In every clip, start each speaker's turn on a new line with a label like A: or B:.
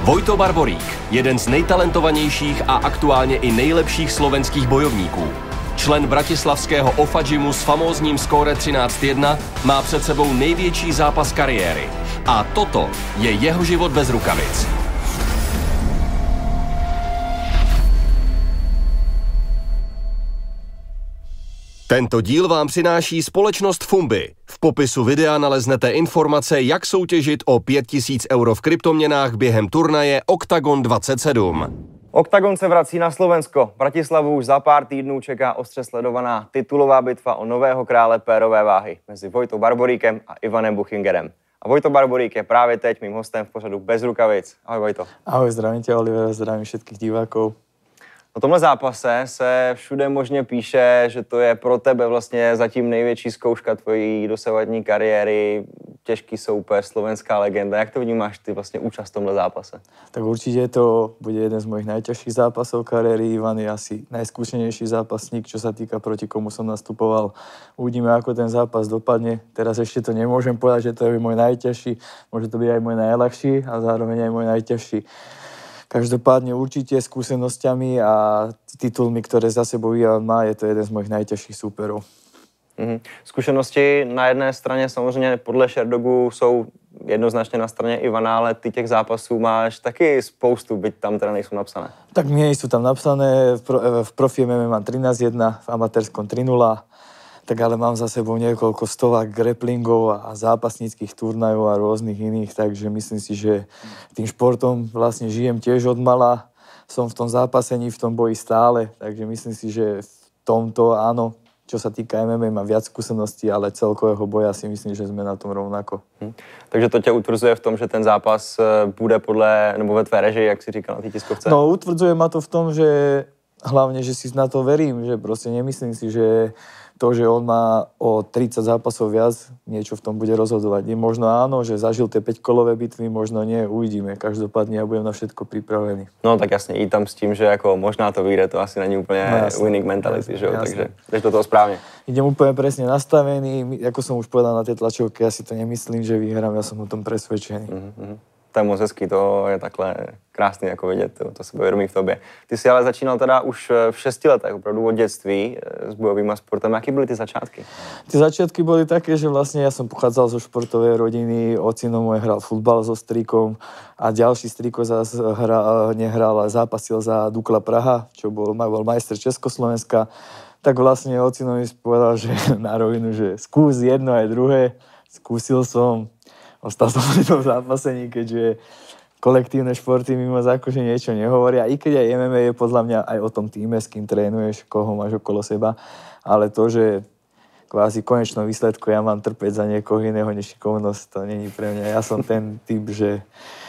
A: Vojto Barborík, jeden z nejtalentovanějších a aktuálně i nejlepších slovenských bojovníků. Člen bratislavského OFA gymu s famózním skóre 13:1 má před sebou největší zápas kariéry. A toto je jeho život bez rukavic. Tento díl vám přináší společnost Fumbi. V popisu videa naleznete informace, jak soutěžit o 5000 € v kryptoměnách během turnaje Octagon 27.
B: Octagon se vrací na Slovensko. Bratislavu už za pár týdnů čeká ostře sledovaná titulová bitva o nového krále pérové váhy mezi Vojtou Barboríkem a Ivanem Buchingerem. A Vojto Barborík je právě teď mým hostem v pořadu Bez rukavic. Ahoj Vojto.
C: Ahoj, zdravím tě Oliver, zdravím všetkých divákov.
B: O tomhle zápase se všude možně píše, že to je pro tebe vlastně zatím největší zkouška tvojí dosavadní kariéry, těžký soupeř, slovenská legenda. Jak to vnímáš ty vlastně účast v tomhle zápase?
C: Tak určite to bude jeden z mojich najťažších zápasov kariéry. Ivan je asi najskúšenejší zápasník, čo sa týka proti komu som nastupoval. Uvidíme, ako ten zápas dopadne. Teraz ešte to nemôžem povedať, že to je môj najťažší. Môže to byť aj môj najľahší a zároveň aj môj najťažší. Každopádne určite skúsenosťami a titulmi, ktoré za sebou Ivan má, je to jeden z mojich najťažších súperov.
B: Zkušenosti na jedné straně samozřejmě podle Sherdogu jsou jednoznačně na straně Ivana, ale ty těch zápasů máš taky spoustu, byť tam teda nejsou napsané.
C: Tak nie sú tam napsané, v profi MMA mám 13:1, v amatérskom 3:0, tak ale mám za sebou niekoľko stovák grapplingov a zápasníckých turnajov a rôznych iných, takže myslím si, že tým športom vlastne žijem tiež od mala, som v tom zápasení, v tom boji stále, takže myslím si, že v tomto áno, čo sa týka MMA, má viac skúseností, ale celkového boja si myslím, že sme na tom rovnako.
B: Takže to tě utvrzuje v tom, že ten zápas bude podle, nebo ve tvé režii, jak si říkal na té tiskovce?
C: No, utvrdzuje ma to v tom, že hlavne, že si na to verím, že proste nemyslím si, že to, že on má o 30 zápasov viac, niečo v tom bude rozhodovať. Je možno áno, že zažil tie 5-kolové bitvy, možno nie, uvidíme. Každopádne ja budem na všetko pripravený.
B: No tak jasně, i tam s tím, že jako možná to vyjde, to asi není úplně winning mentality, že jo, takže jdeš do toho správně.
C: Idem úplne presne nastavený, ako som už povedal na tej tlačovke, ja si to nemyslím, že vyhrám, ja som o tom presvedčený.
B: To je moc hezký, to je takhle krásný jako vidět, to se vědomí v tobě. Ty jsi ale začínal teda už v 6 letech, opravdu od dětství s bojovým sportem. Jaký byly ty začátky?
C: Ty začiatky boli také, že vlastne ja som pochádzal zo športovej rodiny, ocino môj hral futbal so strikom a ďalší striko zase nehral, ale zápasil za Dukla Praha, čo bol majster Československa. Tak vlastne ocino mi povedal, že na rovinu, že skús jedno aj druhé. Skúsil som. Ostal som pri tom zápasení, keďže kolektívne športy mi moc akože niečo nehovoria. I keď aj MMA je podľa mňa aj o tom týme, s kým trénuješ, koho máš okolo seba. Ale to, že kvázi v konečnom výsledku ja mám trpeť za niekoho iného nešikovnosť, to není pre mňa. Ja som ten typ, že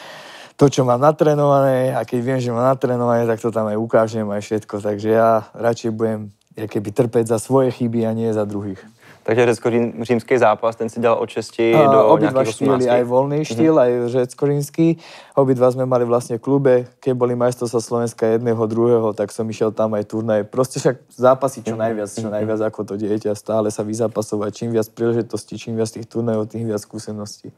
C: to, čo mám natrénované, a keď viem, že mám natrénované, tak to tam aj ukážem, aj všetko. Takže ja radšej budem keby trpeť za svoje chyby a nie za druhých.
B: Takže řecko-římský zápas, ten si dělal od 6 do nějakých 18.
C: Obidva aj voľný štýl, aj řecko-rímsky. Obidva sme mali vlastne v klube. Keď boli majstrovstvá Slovenska jedného, druhého, tak som išiel tam aj turnaj. Proste však zápasy čo najviac ako to dieťa. Stále sa vyzápasovať. Čím viac príležitostí, čím viac tých turnajov, tým viac skúseností.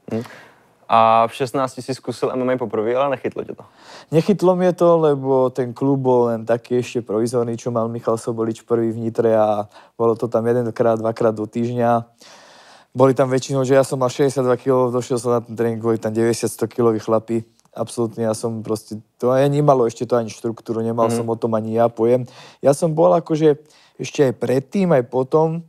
B: A v 16 si skúsil MMA poprvé, ale nechytlo ťa to?
C: Nechytlo mi to, lebo ten klub bol len taký ešte provizorný, čo mal Michal Sobolič prvý v Nitre a bolo to tam 1-2 krát do týždňa. Boli tam väčšinou, že ja som mal 62 kg, došiel som na ten tréning, boli tam 90-100 kg chlapi. Absolútne, ja som proste, to aj nemalo ešte to ani štruktúru, nemal som o tom ani ja pojem. Ja som bol akože ešte aj predtým, aj potom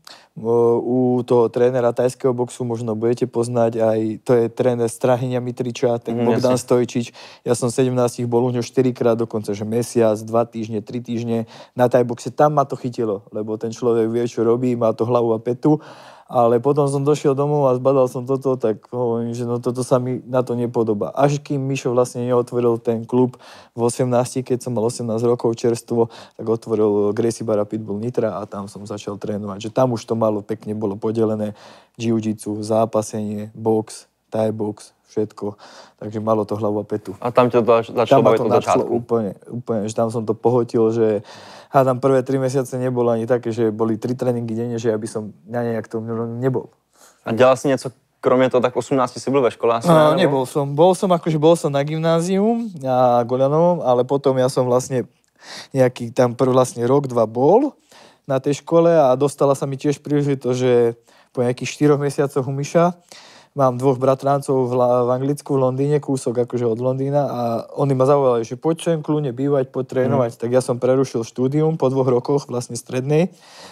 C: u toho trénera tajského boxu, možno budete poznať, aj to je tréner Strahyňa Mitriča, ten Bogdan Stojčič. Ja som 17 bol u ňo 4-krát dokonca, že mesiac, 2 týždne, 3 týždne na tajboxe. Tam ma to chytilo, lebo ten človek vie, čo robí, má to hlavu a petu. Ale potom som došiel domov a zbadal som toto, tak hovorím, že no toto sa mi na to nepodobá. Až kým Mišo vlastne neotvoril ten klub v 18, keď som mal 18 rokov čerstvo, tak otvoril Gracie Barra Pitbull Nitra a tam som začal trénovať. Že tam už to malo pekne bolo podelené, jiu-jitsu, zápasenie, box, thai box, všetko. Takže malo to hlavu a petu.
B: A tam ťa začalo baviť od začiatku?
C: Úplne, že tam som to pohotil, že hádam prvé 3 mesiace nebolo ani také, že boli 3 tréninky denne, že ja by som na nejak to nebol.
B: A dělal jsi něco kromě toho, tak 18 si byl ve škole asi,
C: nebol som. Bol som na gymnáziu na Golianovom, ale potom ja som vlastne nejaký tam vlastne rok, 2 bol na tej škole a dostala sa mi tiež príležitosť, že po nejakých 4 mesiacoch u Miša mám 2 bratrancov v Anglicku, v Londýne, kúsok akože od Londýna a oni ma zavolali, že poď sem kľudne bývať, poď trénovať. Tak ja som prerušil štúdium po 2 rokoch vlastne strednej.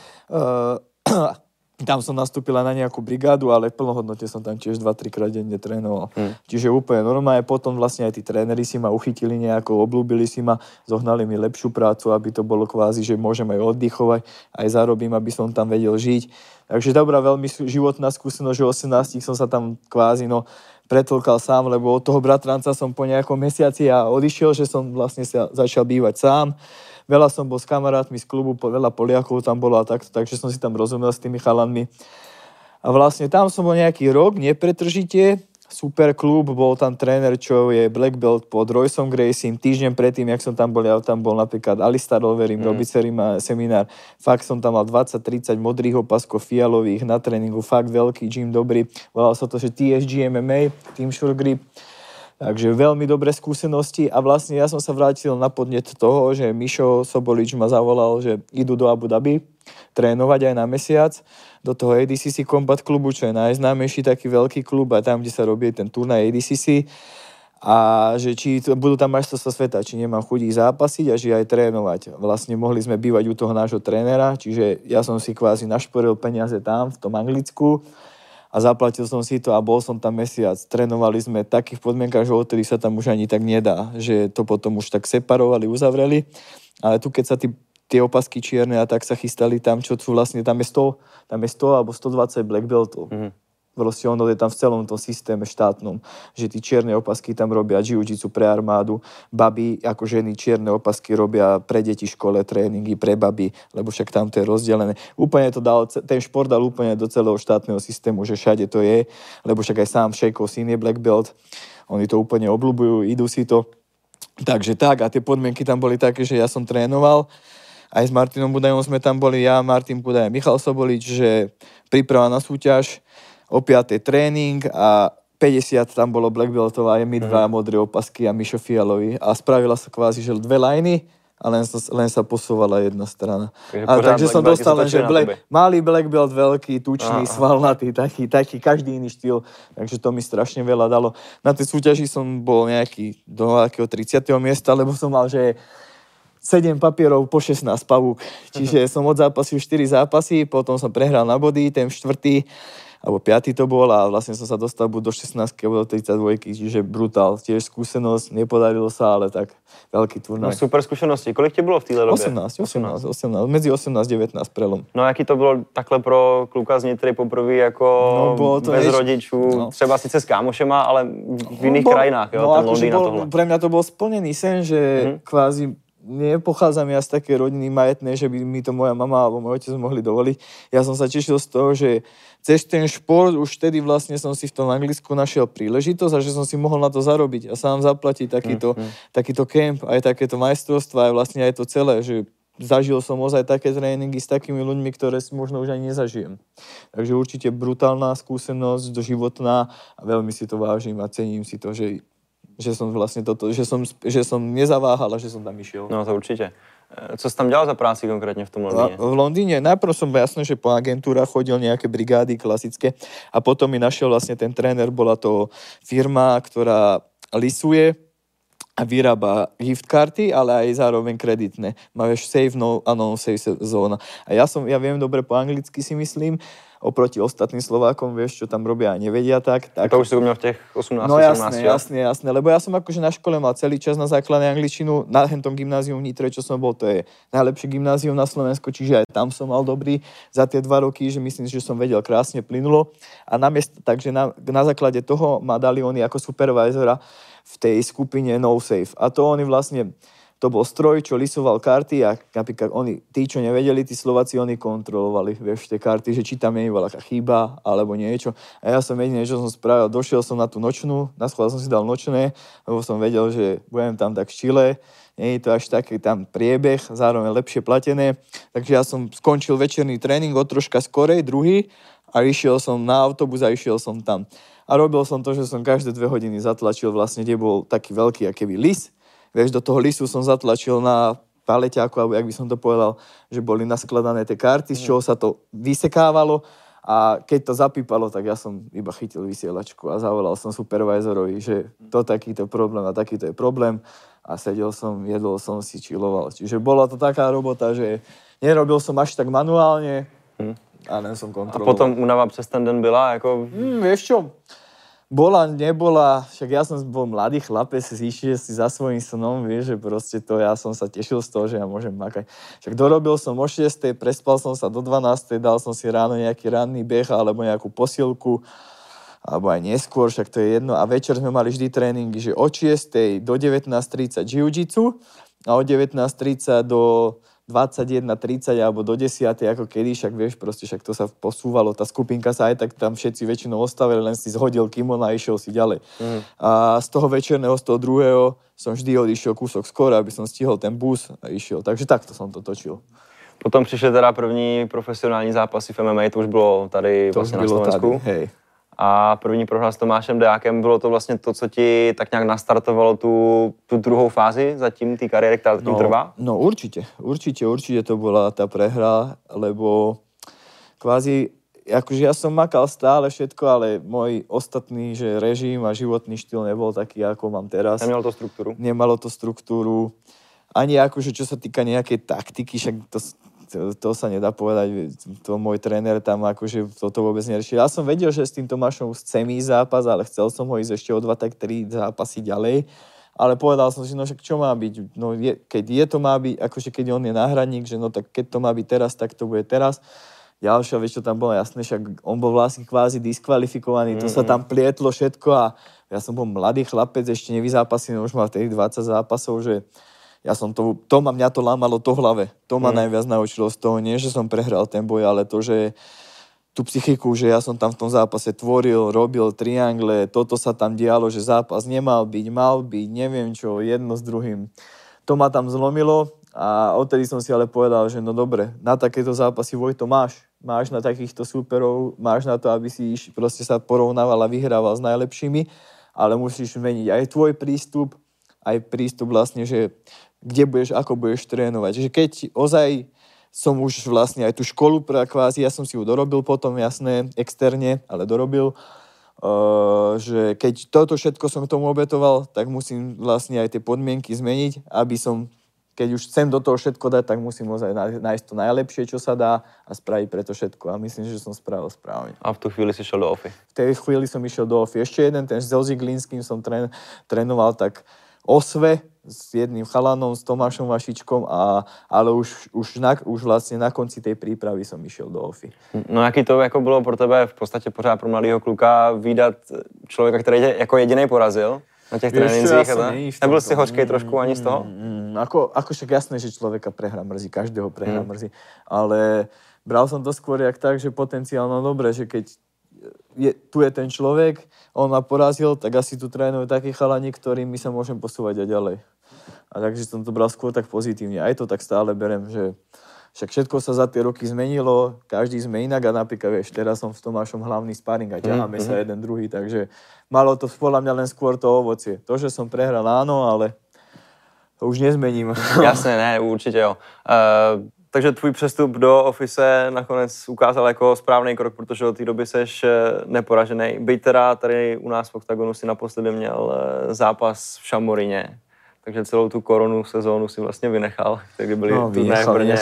C: Tam som nastúpila na nejakú brigádu, ale v plnohodnote som tam tiež 2-3 krát denne trénoval. Čiže úplne normálne. Potom vlastne aj tí tréneri si ma uchytili nejako, obľúbili si ma, zohnali mi lepšiu prácu, aby to bolo kvázi, že môžem aj oddychovať, aj zarobím, aby som tam vedel žiť. Takže dobrá, veľmi životná skúsenosť, že 18 som sa tam kvázi pretlkal sám, lebo od toho bratranca som po nejakom mesiaci odišiel, že som vlastne sa začal bývať sám. Veľa som bol s kamarátmi z klubu, veľa Poliakov tam bolo a takto, takže som si tam rozumel s tými chalanmi. A vlastne tam som bol nejaký rok, nepretržite, super klub, bol tam tréner, čo je black belt pod Royceom Graciem. Týždeň predtým, jak som tam bol, ja tam bol napríklad Alistair Overeem, robiť seminár. Fakt som tam mal 20-30 modrých opaskov fialových na tréningu, fakt veľký gym, dobrý. Volal sa to, že TSG MMA, Team Sure Grip. Takže veľmi dobré skúsenosti a vlastne ja som sa vrátil na podnet toho, že Mišo Sobolič ma zavolal, že idú do Abu Dhabi trénovať aj na mesiac do toho ADCC Combat klubu, čo je najznámejší taký veľký klub a tam, kde sa robí ten turnaj ADCC a že či budú tam majstrovstvá sveta, či nemám chuť ich zápasiť a že aj trénovať. Vlastne mohli sme bývať u toho nášho trénera, čiže ja som si kvázi našporil peniaze tam v tom Anglicku a zaplatil som si to a bol som tam mesiac. Trénovali sme v takých podmienkach, že odtedy sa tam už ani tak nedá, že to potom už tak separovali, uzavreli. Ale tu, keď sa tie opasky čierne a tak sa chystali tam, čo tu vlastne, tam je 100 alebo 120 black beltov. Proste ono je tam v celom tom systéme štátnom, že tí čierne opasky tam robia jiu-jitsu pre armádu, baby ako ženy čierne opasky robia pre deti škole tréningy, pre baby, lebo však tam to je rozdelené. Úplne to dal, ten šport dal úplne do celého štátneho systému, že všade to je, lebo však aj sám Šejkov syn je black belt, oni to úplne obľúbujú, idú si to. Takže tak, a tie podmienky tam boli také, že ja som trénoval, aj s Martinom Budajom sme tam boli, ja, Martin Budaj, Michal Sobolič, že príprava na súťaž, o 5. tréning a 50 tam bolo black beltov a je mi 2 modré opasky a Mišo fialový. A spravila sa kvázi, že 2 lajny a len sa posúvala jedna strana. Takže som dostal len, že malý black belt, veľký, tučný, svalnatý, taký, každý iný štýl. Takže to mi strašne veľa dalo. Na tej súťaži som bol nejaký do akého 30. miesta, lebo som mal, že 7 papierov po 16 pavúk. Čiže som odzápasil 4 zápasy, potom som prehral na body, ten 4. alebo 5. to bol a vlastne som sa dostal buď do 16 alebo do 32, čiže brutál. Tiež skúsenosť, nepodarilo sa, ale tak veľký turnaj.
B: No super skúsenosti. Kolik ti bylo v téhle době?
C: 18, mezi 18 a 19 prelom.
B: No jaký to bylo takhle pro kluka z Nitry poprvé jako bez rodičů, třeba sice s kámošema, ale v jiných krajinách, jo, ten Londýn a tohle.
C: Pre mňa to bol splnený sen, že kvázi nepochádzam ja z také rodiny majetné, že by mi to moja mama alebo môj otec mohli dovoliť. Ja som sa tešil z toho, že cez ten šport už vtedy vlastne som si v tom Anglicku našiel príležitosť a že som si mohol na to zarobiť a sám zaplatiť takýto kemp, aj takéto majstrovstvá, aj vlastne aj to celé, že zažil som ozaj také tréningy s takými ľuďmi, ktoré si možno už ani nezažijem. Takže určite brutálna skúsenosť doživotná a veľmi si to vážim a cením si to, že som vlastne toto, že som nezaváhal a že som tam išiel.
B: No to určite. Co jsi tam dělal za práci konkrétně v tom Londýně?
C: V Londýne najprv som jasné, že po agentúrach chodil nejaké brigády klasické a potom mi našiel vlastne ten tréner, bola to firma, ktorá lisuje a vyrába gift karty, ale aj zároveň kreditné. Máš safe, no safe zóna. A ja viem dobre po anglicky si myslím, oproti ostatným Slovákom, vieš, čo tam robia a nevedia tak.
B: To už si umiel v těch 18,
C: no 17, jasné, lebo ja som akože na škole mal celý čas na základnej angličtinu, na hentom gymnáziu v Nitre, čo som bol, to je najlepšie gymnázium na Slovensku, čiže aj tam som mal dobrý za tie 2 roky, že myslím, že som vedel krásne plynulo. A takže na základe toho ma dali oni ako supervisora v tej skupine No Safe. A to oni vlastne, to bol stroj, čo lisoval karty a napríklad tí, čo nevedeli, tí Slováci, oni kontrolovali, vieš, tie karty, že či tam nie je veľká chyba alebo niečo. A ja som jediné, čo som spravil, došiel som na tú nočnú, na schvál som si dal nočné, lebo som vedel, že budem tam tak v Čile, nie je to až taký tam priebeh, zároveň lepšie platené. Takže ja som skončil večerný tréning o troška skorej, druhý, a išiel som na autobus a išiel som tam. A robil som to, že som každé 2 hodiny zatlačil vlastne, kde bol taký veľký akýby lis. Vieš, do toho lisu som zatlačil na paleťáku, alebo jak by som to povedal, že boli naskladané tie karty, z čoho sa to vysekávalo. A keď to zapípalo, tak ja som iba chytil vysielačku a zavolal som supervisorovi, že to takýto problém a takýto je problém. A sedel som, jedol som si, chilloval. Čiže bola to taká robota, že nerobil som až tak manuálne, a len som kontroloval.
B: A potom únava přes ten den byla? Jako...
C: Vieš čo? Bola, nebola, však ja som bol mladý chlapec, išiel si za svojím snom, vieš, že proste to, ja som sa tešil z toho, že ja môžem makať. Však dorobil som o 6, prespal som sa do 12, dal som si ráno nejaký ranný beh alebo nejakú posilku, alebo aj neskôr, však to je jedno. A večer sme mali vždy tréningy, že od 6 do 19:30 jiu-jitsu a od 19:30 do 21:30 alebo do 10, ako kedy, však vieš, proste však to sa posúvalo, tá skupinka sa aj tak tam všetci väčšinou ostavili, len si zhodil kimono a išiel si ďalej. A z toho večerného, z toho druhého som vždy odišiel kúsok skôr, aby som stihol ten bus a išiel. Takže takto som to točil.
B: Potom přišly teda první profesionální zápasy v MMA, to už bylo tady
C: To
B: vlastně
C: už
B: na
C: bylo
B: Slovensku.
C: tady, hej.
B: A první prohra s Tomášem Dejákem, bylo to vlastně to, co ti tak nějak nastartovalo tu druhou fázi zatím té kariéry, která tím trvá?
C: No určite to bola tá prehra, lebo kvázi, akože ja som makal stále všetko, ale môj ostatný, že režim a životný štýl nebol taký, ako mám teraz. Nemalo to struktúru. Ani akože, čo sa týka nejakej taktiky, však to sa nedá povedať, to môj tréner tam akože toto vôbec neriešil. Ja som vedel, že s tým Tomášom chcem ísť zápas, ale chcel som ho ísť ešte o 2, tak 3 zápasy ďalej. Ale povedal som si, no však čo má byť? No keď je to má byť, akože keď on je náhradník, že no tak keď to má byť teraz, tak to bude teraz. Ďalšia vec, čo tam bolo jasné, však on bol vlastne kvázi diskvalifikovaný, to sa tam plietlo všetko a ja som bol mladý chlapec, ešte nevyzápasený, už mal vtedy 20 zápasov, že ja som mňa to lámalo to hlave. To ma najviac naučilo z toho, nie že som prehral ten boj, ale to, že tú psychiku, že ja som tam v tom zápase tvoril, robil triangle, toto sa tam dialo, že zápas nemal byť, mal byť, neviem čo, jedno s druhým. To ma tam zlomilo a odtedy som si ale povedal, že no dobre, na takéto zápasy Vojto máš na takýchto súperov, máš na to, aby si proste sa porovnával a vyhrával s najlepšími, ale musíš meniť aj tvoj prístup, aj prístup vlastne, že kde budeš, ako budeš trénovať. Že keď ozaj som už vlastne aj tú školu kvázi, ja som si ju dorobil potom, jasné, externe, ale dorobil, že keď toto všetko som k tomu obetoval, tak musím vlastne aj tie podmienky zmeniť, aby som, keď už chcem do toho všetko dať, tak musím ozaj nájsť to najlepšie, čo sa dá a spraviť preto všetko. A myslím, že som spravil správne.
B: A v tú chvíli si šiel do OFI?
C: V tej chvíli som išiel do OFI. Ešte jeden, ten s Zilzinským som trénoval tak Osve s jedným chalanom, s Tomášom Vašičkom, ale už vlastne na konci tej prípravy som išiel do OFI.
B: No jaký to jako bylo pro tebe v podstatě pořád pro mladého kluka výdat člověka, který tě jako jedinej porazil na těch trénincích? Nebyl si hořkej trošku ani z toho?
C: Ako však jasné, že človeka prehra mrzí, každého prehra mrzí, ale bral som to skôr jak tak, že potenciálno dobre, že keď tu je ten človek, on ma porazil, tak asi tu trénujú takí chalani, ktorými sa môžem posúvať aj ďalej. A takže som to bral skôr tak pozitívne. Aj to tak stále berem, že však všetko sa za tie roky zmenilo, každý sme inak a napríklad, vieš, teraz som s Tomášom hlavný sparing a ťaháme sa jeden druhý, takže malo to podľa mňa len skôr to ovocie. To, že som prehral, áno, ale to už nezmením.
B: Jasne, ne, určitě jo. Takže tvůj přestup do Office nakonec ukázal jako správný krok, protože od té doby seš neporažený. Byť teda tady u nás v Oktagonu si naposledy měl zápas v Šamorině, takže celou tu koronu sezónu si vlastně vynechal, kdy byli turné v Brně.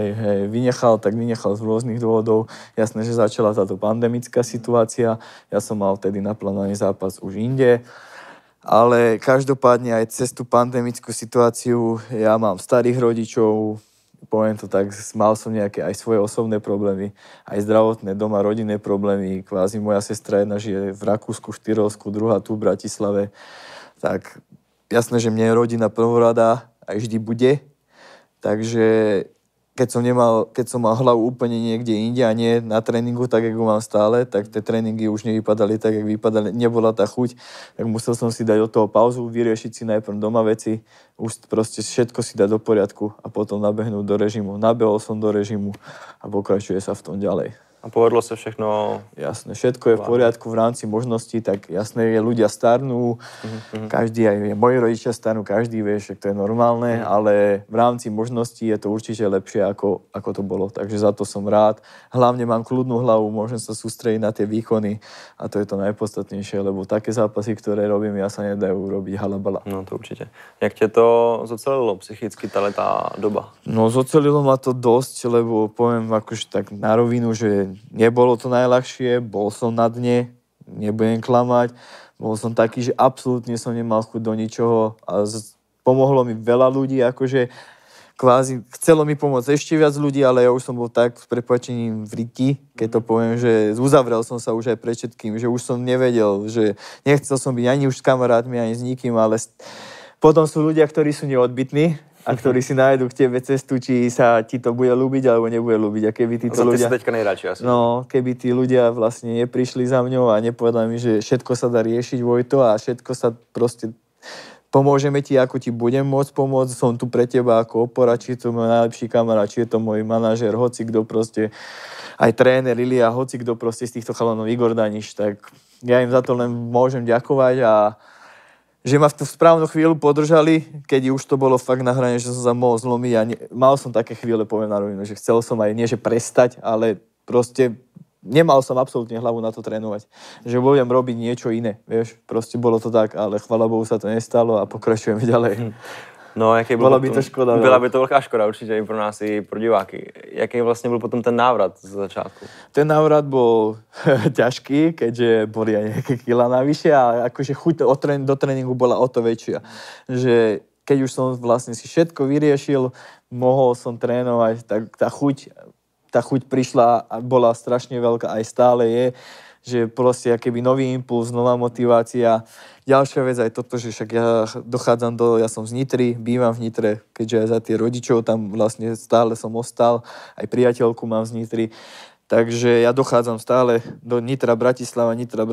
C: Vynechal z rôznych dôvodov. Jasné, že začala táto pandemická situácia. Ja som mal vtedy naplánovaný zápas už inde. Ale každopádne aj cez tú pandemickú situáciu ja mám starých rodičov, poviem to tak, mal som nejaké aj svoje osobné problémy, aj zdravotné doma, rodinné problémy. Kvázi moja sestra jedna žije v Rakúsku, Štyrolsku, druhá tu v Bratislave. Tak jasné, že mne je rodina prvorada aj vždy bude. Takže keď som mal hlavu úplne niekde inde a nie na tréningu, tak ako mám stále, tak tie tréningy už nevypadali tak, jak vypadali, nebola tá chuť, tak musel som si dať od toho pauzu, vyriešiť si najprv doma veci, už proste všetko si dať do poriadku a potom nabehnúť do režimu. Nabehol som do režimu a pokračuje sa v tom ďalej.
B: A povedlo sa všechno?
C: Jasné, všetko je v poriadku v rámci možností, tak jasné, je ľudia starnú, každý, aj moji rodičia starnú, každý vie, že to je normálne, ale v rámci možností je to určite lepšie, ako to bolo. Takže za to som rád. Hlavne mám kľudnú hlavu, môžem sa sústrediť na tie výkony a to je to najpodstatnejšie, lebo také zápasy, ktoré robím, ja sa nedajú robiť halabala.
B: No to určite. Jak tě to zocelilo psychicky tá doba?
C: No zocelilo ma to dosť, lebo poviem akože tak na rovinu, že nebolo to najľahšie, bol som na dne, nebudem klamať, bol som taký, že absolútne som nemal chuť do ničoho a pomohlo mi veľa ľudí, akože kvázi chcelo mi pomôcť ešte viac ľudí, ale ja už som bol tak s prepáčením v riti, keď to poviem, že uzavrel som sa už aj pred všetkým, že už som nevedel, že nechcel som byť ani už s kamarátmi, ani s nikým, ale potom sú ľudia, ktorí sú neodbytní, a ktorí si nájdu k tebe cestu, či sa ti to bude ľúbiť, alebo nebude ľúbiť. A keby títo ľudia...
B: Ty si teďka nejradšej asi.
C: No, keby tí ľudia vlastne neprišli za mňou a nepovedali mi, že všetko sa dá riešiť, Vojto, a všetko sa proste... Pomôžeme ti, ako ti budem môcť pomôcť, som tu pre teba ako opora, či je to môj najlepší kamarát, či je to môj manažér, hoci kto proste, aj tréner Ilia, hoci kto proste z týchto chalanov, Igor Daniš, tak ja im za to len môžem ďakovať a že ma v tú správnu chvíľu podržali, keď už to bolo fakt na hrane, že som sa mohol zlomiť a mal som také chvíle, poviem na rovinu, že chcel som aj nie, že prestať, ale proste nemal som absolútne hlavu na to trénovať. Že budem robiť niečo iné, vieš, proste bolo to tak, ale chvála Bohu sa to nestalo a pokračujeme ďalej.
B: No, jaký byl
C: Byla by to škoda.
B: Byla by to velká škoda určitě i pro nás, i pro diváky. Jaký vlastně byl potom ten návrat z začátku?
C: Ten návrat bol ťažký, keďže boli aj nejaké kila navyše a akože chuť do tréningu bola o to väčšia. Že keď už som vlastne si všetko vyriešil, mohol som trénovať, tak tá chuť prišla a bola strašne veľká, aj stále je, že proste akéby nový impuls, nová motivácia. Ďalšia vec aj toto, že však ja ja som z Nitry, bývam v Nitre, keďže aj za tie rodičov tam vlastne stále som ostal, aj priateľku mám z Nitry. Takže ja dochádzam stále do Nitra Bratislava.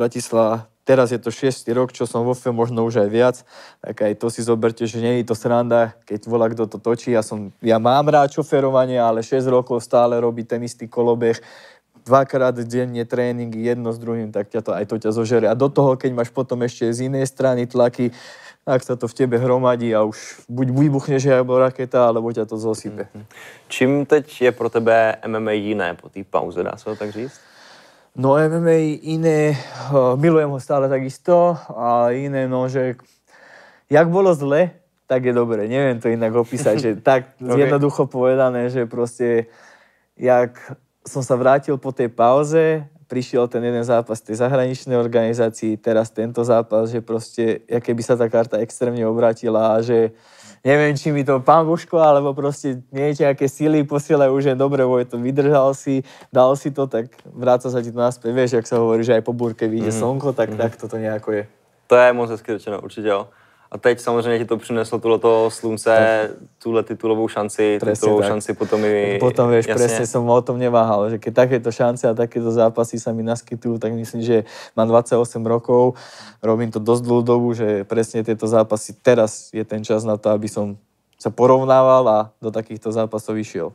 C: Teraz je to 6. rok, čo som vo FE, možno už aj viac. Tak aj to si zoberte, že nie je to sranda, keď volá kto to točí. Ja mám rád šoferovanie, ale 6 rokov stále robí ten istý kolobeh. 2-krát denne tréning, jedno s druhým, tak ťa zožere. A do toho, keď máš potom ešte z inej strany tlaky, tak sa to v tebe hromadí a už buď vybuchneš alebo raketa, alebo ťa to zosype.
B: Čím teď je pro tebe MMA jiné po té pauze, dá se to tak říct?
C: No MMA iné, milujem ho stále takisto, a iné, no, že jak bolo zle, tak je dobre. Neviem to inak opísať, že tak jednoducho povedané, že proste jak som sa vrátil po tej pauze, prišiel ten jeden zápas tej zahraničnej organizácii, teraz tento zápas, že proste, keby sa tá karta extrémne obrátila a že neviem, či mi to pán Božko, alebo proste nejaké síly posielajú, že dobre, Vojto, vydržal si, dal si to, tak vráca sa ti to naspäť. Vieš, jak sa hovorí, že aj po búrke vyjde slnko, tak toto nejako je.
B: To je moc hezky řečeno, určitě jo. A teď samozřejmě ti to přineslo tohleto slunce, tuhle titulovou šanci, potom i...
C: Potom vieš, presne som o tom neváhal, že keď takéto šance a takéto zápasy sa mi naskytujú, tak myslím, že mám 28 rokov, robím to dosť dlhú dobu, že presne tieto zápasy, teraz je ten čas na to, aby som sa porovnával a do takýchto zápasov išiel.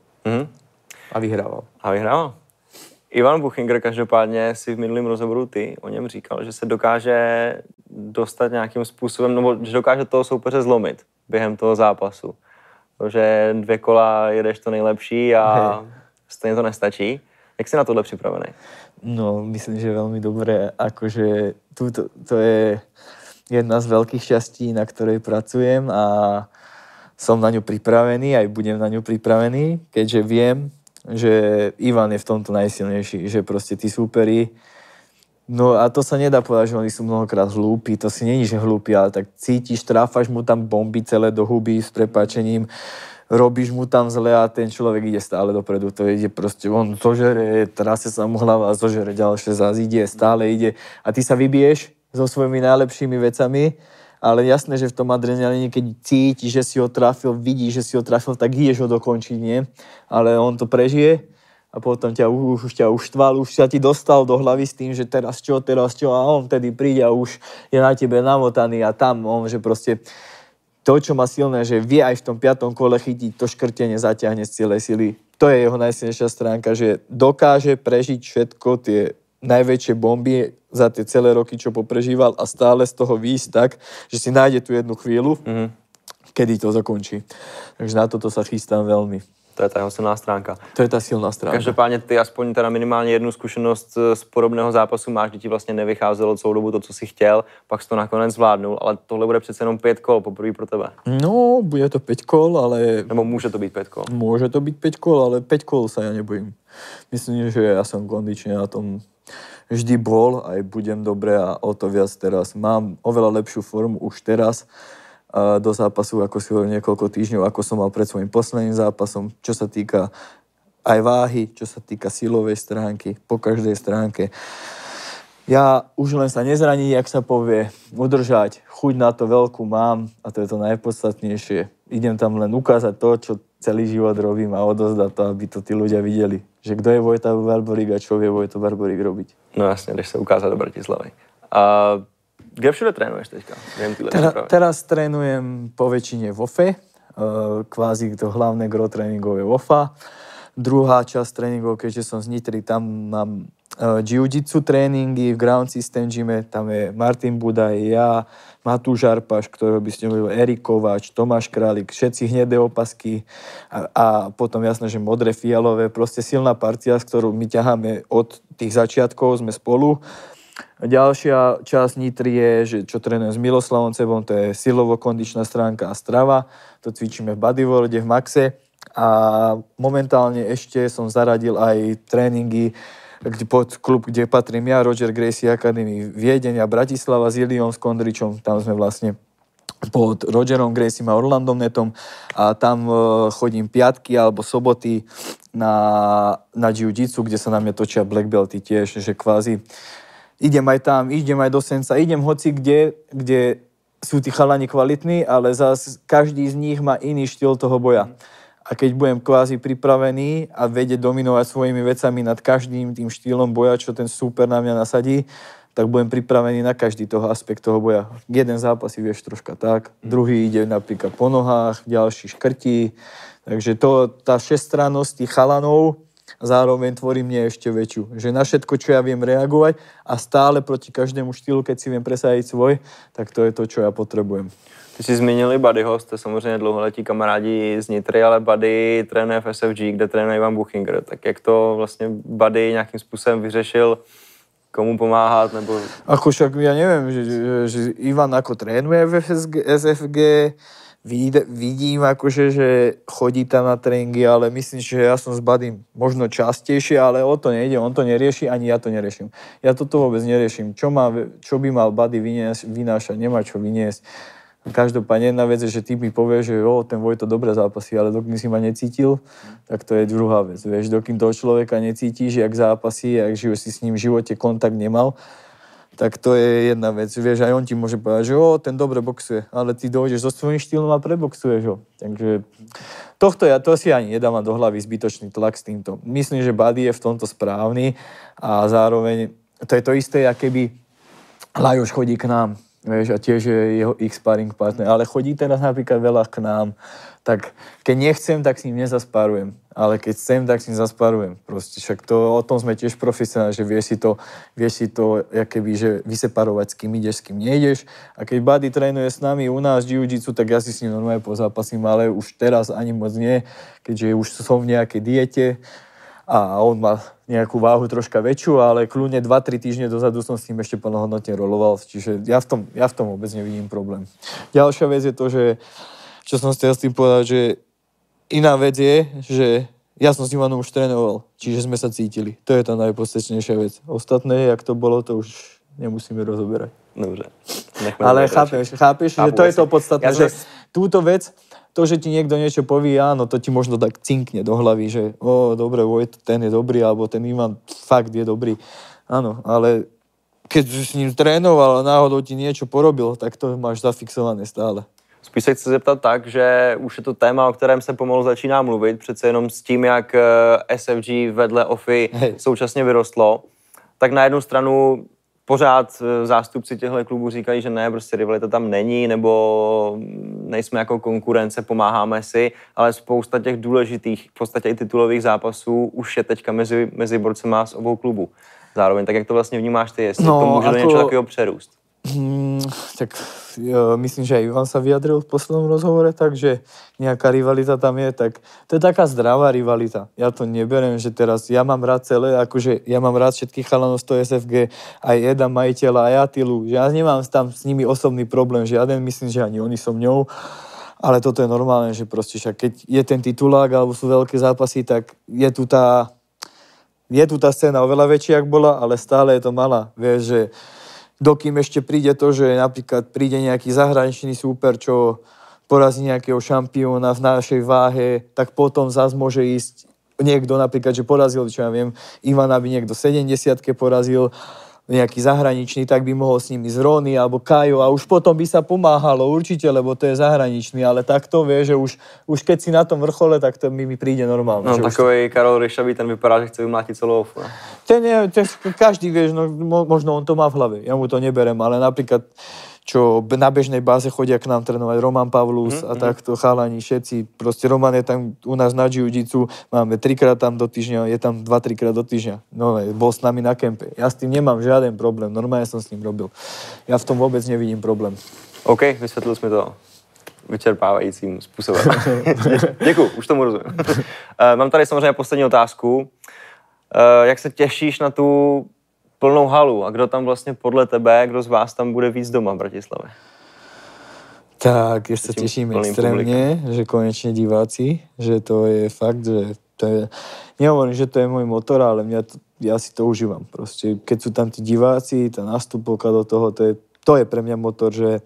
C: A vyhrával.
B: Ivan Buchinger každopádně si v minulém rozhovoru ty o něm říkal, že se dokáže dostat nějakým způsobem, nebo že dokáže toho soupeře zlomit během toho zápasu. Že 2 kola jedeš to nejlepší a stejně to nestačí. Jak jsi na tohle připravený?
C: No, myslím, že veľmi dobré. Akože to je jedna z veľkých šťastí, na ktorej pracujem a som na ňu pripravený, aj budem na ňu pripravený, keďže viem, že Ivan je v tomto najsilnejší, že proste tí súperi, no a to sa nedá povedať, že oni sú mnohokrát hlúpi, to si není, že hlúpi, ale tak cítiš, tráfaš mu tam bomby celé do huby s prepáčením, robíš mu tam zle a ten človek ide stále dopredu, to ide proste, on zožere, trasie sa mu hlava, zožere ďalšie, zás ide, stále ide a ty sa vybiješ so svojimi najlepšími vecami. Ale jasné, že v tom adrenalíne, keď cítiš, že si ho trafil, vidíš, že si ho trafil, tak ideš ho dokončiť, nie? Ale on to prežije a potom ťa uštval, už sa ti dostal do hlavy s tým, že teraz čo a on vtedy príde a už je na tebe namotaný a tam on, že proste to, čo má silné, že vie aj v tom 5. kole chytiť, to škrtenie zaťahne z celej sily To je jeho najsilnejšia stránka, že dokáže prežiť všetko tie najväčšie bomby za tie celé roky, čo poprežíval a stále z toho výjsť tak, že si nájde tú jednu chvíľu, kedy to zakončí. Takže na toto sa chystám veľmi.
B: To je ta jeho silná stránka.
C: To je ta silná stránka.
B: Každopádně ty aspoň teda minimálně jednu zkušenost z podobného zápasu máš, kdy ti vlastně nevycházelo celou dobu to, co si chtěl, pak jsi to nakonec zvládnul, ale tohle bude přece jenom 5 kol poprvé pro tebe.
C: No, bude to 5 kol, ale...
B: Nebo může to být 5 kol?
C: Môže to byť 5 kol, ale 5 kol sa ja nebojím. Myslím, že ja som kondične na tom vždy bol, aj budem dobre a o to viac teraz. Mám oveľa lepšiu formu už teraz do zápasu, ako si hovoril niekoľko týždňov, ako som mal pred svojím posledným zápasom, čo sa týka aj váhy, čo sa týka silovej stránky, po každej stránke. Ja už len sa nezraní, jak sa povie, udržať, chuť na to veľkú mám a to je to najpodstatnejšie. Idem tam len ukázať to, čo celý život robím a odozdať to, aby to tí ľudia videli. Že kto je Vojta Barborík a čo vie Vojta Barborík robiť.
B: No jasne, jdeš sa ukázať do Bratislavy. Kde všude trénuješ teďka?
C: Teraz trénujem po väčšine v OFE, kvázi to hlavné gro tréningov je OFA. Druhá časť tréningov, keďže som z Nitry, tam mám jiu-jitsu tréningy v Ground System gyme, tam je Martin Budaj, ja, Matúš Arpaš, ktorého by ste mohli, Erik Kováč, Tomáš Králik, všetci hnedé opasky a potom jasné, že modré, fialové, proste silná partia, s ktorou my ťaháme od tých začiatkov, sme spolu. Ďalšia časť Nitry je, že čo trénujem s Miloslavom Cebom, to je silovo-kondičná stránka a strava. To cvičíme v Bodyworlde, v Maxe. A momentálne ešte som zaradil aj tréningy pod klub, kde patrím ja, Roger Gracie Academy Viedeň a Bratislava s Iliom Skondričom. Tam sme vlastne pod Rogerom Graciem a Orlandom Netom a tam chodím piatky alebo soboty na jiu-jitsu, kde sa na mňa točia black belty tiež, že kvázi idem aj tam, idem aj do Senca, idem hoci kde sú tí chalani kvalitní, ale zase každý z nich má iný štýl toho boja. A keď budem kvázi pripravený a vedieť dominovať svojimi vecami nad každým tým štýlom boja, čo ten súper na mňa nasadí, tak budem pripravený na každý toho aspekt toho boja. Jeden zápas si vieš troška tak, druhý ide napríklad po nohách, ďalší škrtí. Takže tá všestrannosť tých chalanov zároveň tvorí mne ešte väčšiu. Že na všetko, čo ja viem reagovať a stále proti každému štýlu, keď si viem presadiť svoj, tak to je to, čo ja potrebujem.
B: Ty jsi zmínili Buddyho, jste samozřejmě dlouholetí kamarádi z Nitry, ale Buddy trénuje v SFG, kde trénuje Ivan Buchinger. Tak jak to vlastně Buddy nějakým způsobem vyřešil, komu pomáhat, nebo...
C: Ako však ja neviem, že Ivan ako trénuje v SFG, vidím akože, že chodí tam na tréningy, ale myslím, že ja som s Buddym možno častejšie, ale o to nejde, on to nerieši, ani ja to neriešim. Ja toto vôbec neriešim. Čo by mal Buddy vynášať, nemá čo vyniesť. Každopádne jedna vec je, že ty mi povieš, že ten Vojto dobre zápasí, ale dokým si ma necítil, tak to je druhá vec. Vieš, dokým toho človeka necítiš, jak zápasí, jak si s ním v živote kontakt nemal, tak to je jedna vec. Vieš, aj on ti môže povedať, že ten dobre boxuje, ale ty dojdeš so svojím štýlom a preboxuješ ho. Takže to si ani nedávam do hlavy zbytočný tlak s týmto. Myslím, že Buddy je v tomto správny a zároveň to je to isté, ako keby Lajoš chodí k nám. Vieš, a tiež je jeho sparring partner, ale chodí teraz napríklad veľa k nám, tak keď nechcem, tak s ním nezaspárujem, ale keď chcem, tak s ním zaspárujem. Proste však o tom sme tiež profesionálni, že vieš si to jakoby, že vyseparovať, s kým ideš, s kým nejdeš. A keď Buddy trénuje s nami u nás jiu-jitsu, tak ja si s ním normálne pozápasím, ale už teraz ani moc nie, keďže už som v nejakej diete a on má nejakú váhu troška väčšiu, ale kľudne 2-3 týždne dozadu som s tým ešte plnohodnotne roloval, čiže ja v tom vôbec nevidím problém. Ďalšia vec je to, že čo som chcel s tým povedať, že iná vec je, že ja som s Ivanom už trénoval, čiže sme sa cítili. To je tá najpodstatnejšia vec. Ostatné, jak to bolo, to už nemusíme rozoberať.
B: Dobre.
C: Ale chápeš, že to je to podstatné, že túto vec, to, že ti niekto niečo povie, áno, to ti možno tak cinkne do hlavy, že dobre, ten je dobrý, alebo ten Ivan fakt je dobrý. Áno, ale keď s ním trénoval a náhodou ti niečo porobil, tak to máš zafixované stále.
B: Spíš se chci zeptat tak, že už je to téma, o kterém se pomalu začíná mluvit, přece jenom s tím, jak SFG vedle OFI současně vyrostlo, tak na jednu stranu pořád zástupci těchto klubů říkají, že ne, prostě rivalita tam není, nebo nejsme jako konkurence, pomáháme si, ale spousta těch důležitých, v podstatě i titulových zápasů už je teďka mezi borcema z obou klubů. Zároveň, tak jak to vlastně vnímáš ty, jestli to může do něčeho takového přerůst?
C: Tak myslím, že aj Ivan sa vyjadril v poslednom rozhovore, takže nejaká rivalita tam je, tak to je taká zdravá rivalita. Ja to neberiem, že teraz ja mám rád celé, akože ja mám rád všetkých chalanov z toho SFG, aj Eda, majiteľa, aj Atilu, že ja nemám tam s nimi osobný problém, žiaden, myslím, že ani oni so mňou, ale toto je normálne, že proste však keď je ten titulák alebo sú veľké zápasy, tak je tu tá scéna oveľa väčšia, jak bola, ale stále je to malá, vieš, že dokým ešte príde to, že napríklad príde nejaký zahraničný súper, čo porazí nejakého šampióna v našej váhe, tak potom zás môže ísť niekto napríklad, že porazil, čo ja viem, Ivana by niekto 70-ke porazil, nejaký zahraničný, tak by mohol s nimi z Rony alebo Kajo a už potom by sa pomáhalo určite, lebo to je zahraničný, ale takto vie, že už keď si na tom vrchole, tak to mi príde normálne.
B: No takovej Karol Ryšavý, ten vypadá, že chce vymlátiť celú ofu.
C: Ten každý vie, no, možno on to má v hlave, ja mu to neberem, ale napríklad čo na bežnej báze chodia k nám trénovať Roman Pavlus a takto chalani všetci. Proste Roman je tam u nás na jiu-jitsu, máme 3-krát tam do týždňa, je tam 2-3 krát do týždňa. No, bol s nami na kempe. Ja s tým nemám žiaden problém, normálne som s ním robil. Ja v tom vôbec nevidím problém.
B: OK, vysvětlil jsme to vyčerpávajícím způsobem. Děkuju, už tomu rozumím. Mám tady samozřejmě poslední otázku. Jak se těšíš na tu plnou halu a kdo tam vlastně podle tebe, kdo z vás tam bude víc doma v Bratislavě?
C: Tak, ja sa teším extrémne, že konečne diváci, že to je fakt, že to je, nehovorím, že to je môj motor, ale ja si to užívam. Proste, keď sú tam tí diváci, tá nástupovka do toho, to je pre mňa motor, že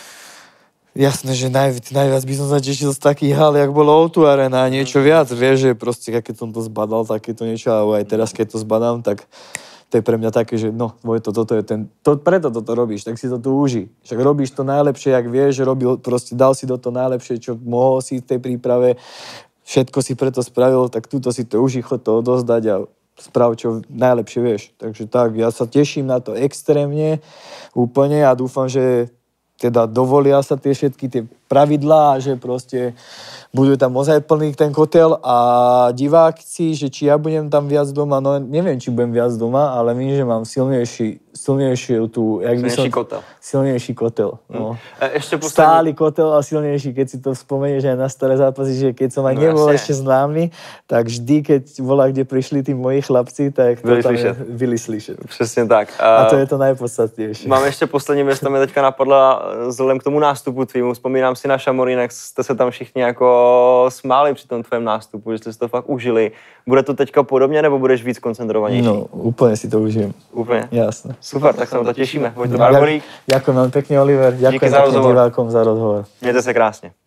C: jasné, že najviac by som sa tešil z takých hal, jak bolo O2 Arena a niečo viac, vieš, že proste, keď som to zbadal, takéto niečo, ale aj teraz, keď to zbadám, tak to je pre mňa také, že no, Vojto, toto je preto toto robíš, tak si to tu uži. Však robíš to najlepšie, jak vieš, dal si do toho najlepšie, čo mohol si v tej príprave, všetko si preto spravil, tak túto si to uži, chod to odozdať a sprav, čo najlepšie vieš. Takže tak, ja sa teším na to extrémne, úplne a dúfam, že teda dovolia sa tie všetky tie pravidlá, že proste budú tam ozaj plný ten kotel a diváci, že či ja budem tam viac doma, no neviem, či budem viac doma, ale vím, že mám silnejší tu, jak by som... Silnejší kotel. No.
B: Ešte posledný...
C: Stály kotel a silnejší, keď si to spomenieš aj na staré zápasy, že keď som aj nebol ešte známy, tak vždy, keď volá, kde prišli tí moji chlapci, tak to byli slyšet.
B: Přesně tak.
C: A to je to najpodstatnější.
B: Mám ještě poslední věc, tam mě teďka napadla vzhledem k tomu nástupu tvýmu. Vzpomínám si na Šamorín, jak jste se tam všichni jako smáli při tom tvém nástupu, že jste si to fakt užili. Bude to teďka podobně, nebo budeš víc koncentrovanější?
C: No, úplně si to užijem.
B: Úplně?
C: Jasné.
B: Super, tak se na to těšíme. Vojto Barborík.
C: Ďakujem vám pekne, Oliver. Ďakujem pekne divákom za rozhovor.
B: Mějte se krásně.